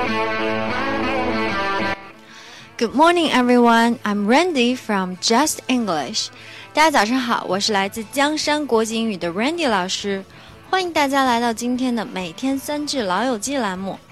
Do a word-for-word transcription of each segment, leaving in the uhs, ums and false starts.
Good morning, everyone. I'm Randy from Just English. 大家早上好，我是来自江山国际英语的 Randy 老师，欢迎大家来到今天的每天三句老友记栏目。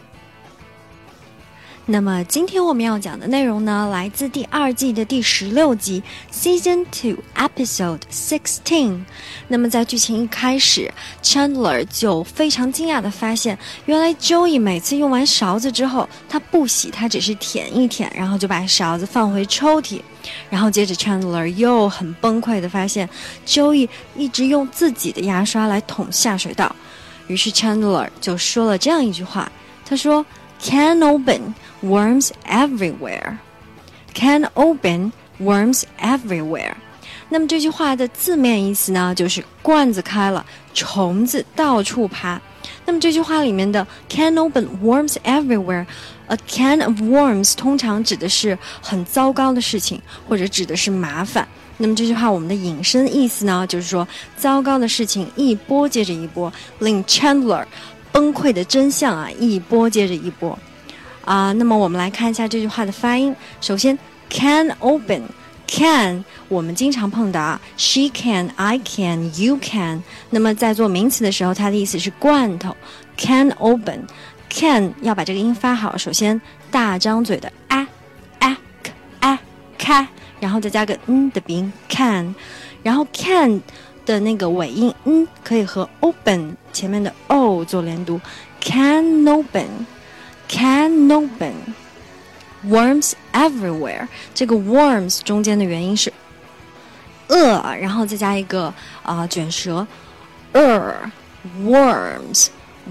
那么今天我们要讲的内容呢，来自第二季的第十六集 Season two Episode sixteen。 那么在剧情一开始 Chandler 就非常惊讶地发现，原来 Joey 每次用完勺子之后，他不洗，他只是舔一舔，然后就把勺子放回抽屉。然后接着 Chandler 又很崩溃地发现 Joey 一直用自己的牙刷来捅下水道。于是 Chandler 就说了这样一句话，他说 Can open Worms everywhere. Can open worms everywhere. 那么这句话的字面意思呢，就是罐子开了，虫子到处爬。那么这句话里面的 can open worms everywhere, a can of worms 通常指的是很糟糕的事情，或者指的是麻烦。那么这句话我们的引申意思呢，就是说糟糕的事情一波接着一波，令 Chandler 崩溃的真相啊，一波接着一波。啊、uh, 那么我们来看一下这句话的发音。首先 can open can 我们经常碰到啊 she can, I can, you can。 那么在做名词的时候，它的意思是罐头。 can open can 要把这个音发好，首先大张嘴的啊啊啊开，然后再加个嗯的鼻音 can， 然后 can 的那个尾音嗯可以和 open 前面的 o 做连读， can open Can open Worms everywhere。 这个 worms 中间的元音是呃，然后再加一个啊、呃、卷舌 er worms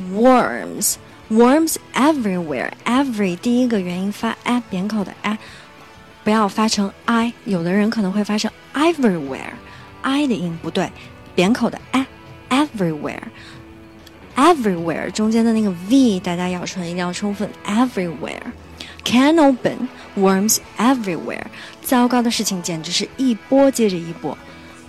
worms worms everywhere。 every 第一个元音发 a 扁口的 a， 不要发成 i， 有的人可能会发成 everywhere i 的音不对，扁口的 a everywhere Everywhere 中间的那个 V 大家咬唇一定要充分 Everywhere Can open Worms everywhere。 糟糕的事情简直是一波接着一波。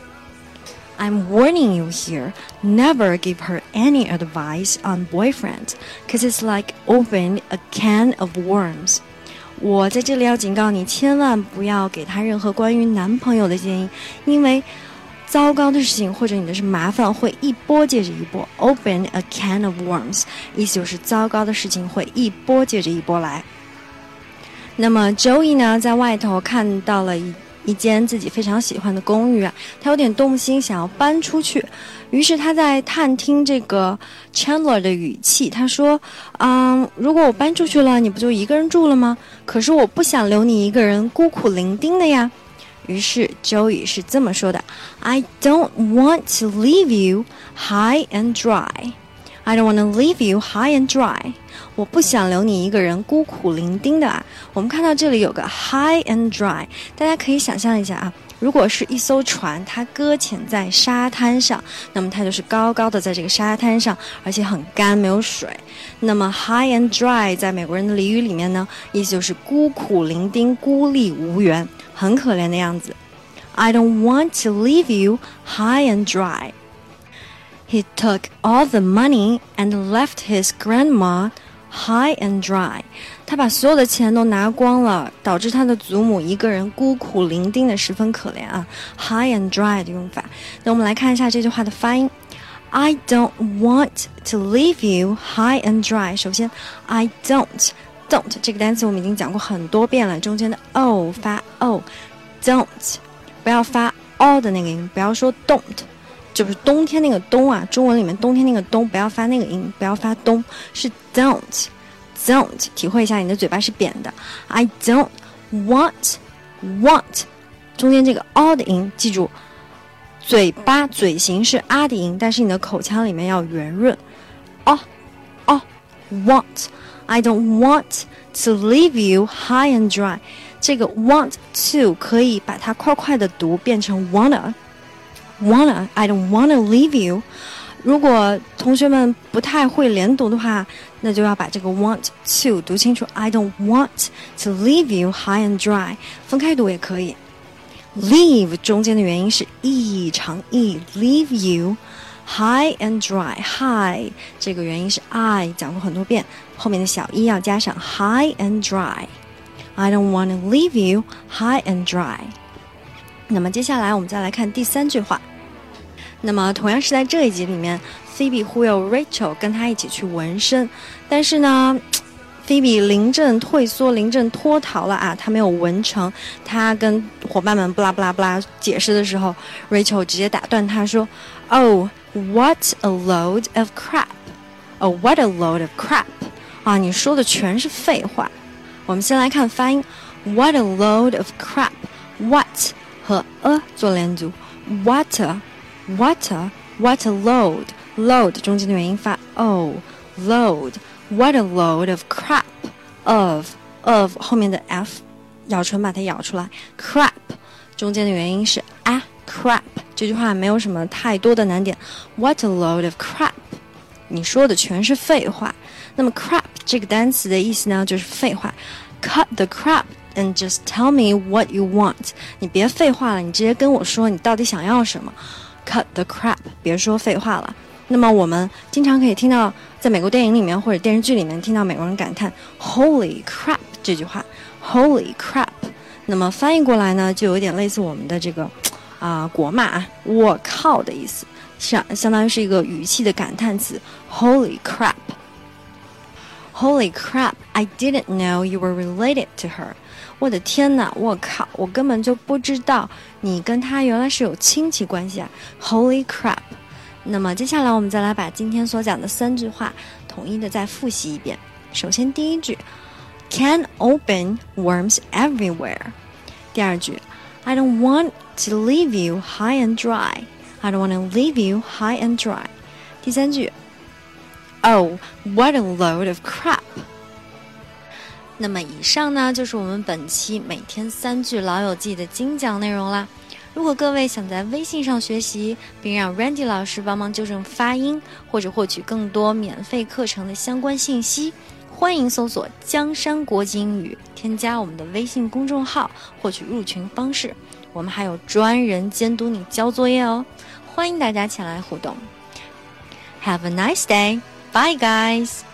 I'm warning you here, never give her any advice on boyfriends, cause it's like opening a can of worms。 我在这里要警告你，千万不要给她任何关于男朋友的建议，因为糟糕的事情或者你的是麻烦会一波接着一波。 Open a can of worms 意思就是糟糕的事情会一波接着一波来。那么 Joey 呢，在外头看到了一一间自己非常喜欢的公寓啊，他有点动心，想要搬出去。于是他在探听这个 Chandler 的语气，他说嗯，如果我搬出去了，你不就一个人住了吗？可是我不想留你一个人孤苦伶仃的呀。于是 Joey 是这么说的， I don't want to leave you high and dry. I don't want to leave you high and dry. 我不想留你一个人孤苦伶仃的啊。我们看到这里有个 high and dry， 大家可以想象一下啊，如果是一艘船，它搁浅在沙滩上，那么它就是高高的在这个沙滩上，而且很干，没有水。那么 high and dry 在美国人的俚语里面呢，意思就是孤苦伶仃，孤立无援，很可怜的样子。 I don't want to leave you high and dry. He took all the money and left his grandma high and dry. 他把所有的钱都拿光了，导致他的祖母一个人孤苦伶仃的十分可怜啊。 high and dry 的用法。那我们来看一下这句话的发音。 I don't want to leave you high and dry。 首先 I don't don't 这个单词我们已经讲过很多遍了，中间的 o 发 o， don't 不要发 o 的那个音，不要说 don't， 就是冬天那个冬啊，中文里面冬天那个冬不要发那个音，不要发冬，是 don't don't， 体会一下你的嘴巴是扁的。 I don't want want 中间这个 o 的音，记住嘴巴嘴型是 a 的音，但是你的口腔里面要圆润。 o o want I don't want to leave you high and dry。 这个 want to 可以把它快快的读变成 wanna wanna I don't wanna leave you。 如果同学们不太会连读的话，那就要把这个 want to 读清楚。 I don't want to leave you high and dry， 分开读也可以。 leave 中间的元音是 e 长 e， leave you high and dry. High 这个元音是 I 讲过很多遍，后面的小一要加上 high and dry. I don't want to leave you high and dry. 那么接下来我们再来看第三句话。那么同样是在这一集里面 Phoebe 忽悠 Rachel 跟他一起去纹身，但是呢菲比临阵退缩，临阵脱逃了啊！他没有纹成。他跟伙伴们不拉不拉不拉解释的时候 ，Rachel 直接打断他说 ：“Oh, what a load of crap! Oh, what a load of crap! 啊，你说的全是废话。”我们先来看发音 ，What a load of crap! What 和 a 做连读 ，What a, what a, what a load! Load 中间的元音发 o, load。What a load of crap. Of of 后面的 f 咬唇把它咬出来 crap 中间的元音是 a crap 这句话没有什么太多的难点 What a load of crap 你说的全是废话。那么 crap 这个单词的意思呢就是废话 Cut the crap and just tell me what you want 你别废话了，你直接跟我说你到底想要什么 Cut the crap 别说废话了。那么我们经常可以听到在美国电影里面或者电视剧里面听到美国人感叹 Holy crap 这句话 Holy crap 那么翻译过来呢就有点类似我们的这个啊、呃、国骂啊我靠的意思，相相当于是一个语气的感叹词 Holy crap Holy crap I didn't know you were related to her 我的天哪我靠我根本就不知道你跟她原来是有亲戚关系啊 Holy crap。那么接下来我们再来把今天所讲的三句话统一的再复习一遍。首先第一句 Can open worms everywhere 第二句 I don't want to leave you high and dry I don't want to leave you high and dry 第三句 Oh, what a load of crap 那么以上呢就是我们本期每天三句老友记的精讲内容啦。如果各位想在微信上学习，并让 Randy 老师帮忙纠正发音，或者获取更多免费课程的相关信息，欢迎搜索江山国际英语，添加我们的微信公众号，获取入群方式。我们还有专人监督你交作业哦，欢迎大家前来互动。Have a nice day. Bye, guys.